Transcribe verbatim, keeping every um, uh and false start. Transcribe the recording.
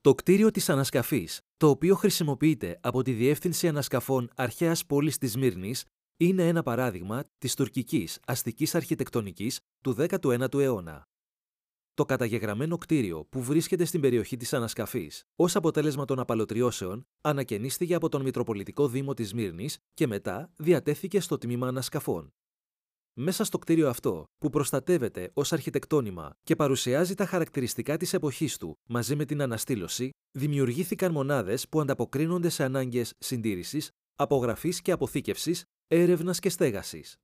Το κτίριο της ανασκαφής, το οποίο χρησιμοποιείται από τη Διεύθυνση Ανασκαφών Αρχαίας Πόλης της Σμύρνης, είναι ένα παράδειγμα της τουρκικής αστικής αρχιτεκτονικής του δέκατου ένατου αιώνα. Το καταγεγραμμένο κτίριο που βρίσκεται στην περιοχή της ανασκαφής, ως αποτέλεσμα των απαλωτριώσεων, ανακαινίστηκε από τον Μητροπολιτικό Δήμο της Σμύρνης και μετά διατέθηκε στο τμήμα ανασκαφών. Μέσα στο κτίριο αυτό, που προστατεύεται ως αρχιτεκτόνημα και παρουσιάζει τα χαρακτηριστικά της εποχής του μαζί με την αναστήλωση, δημιουργήθηκαν μονάδες που ανταποκρίνονται σε ανάγκες συντήρησης, απογραφής και αποθήκευσης, έρευνας και στέγασης.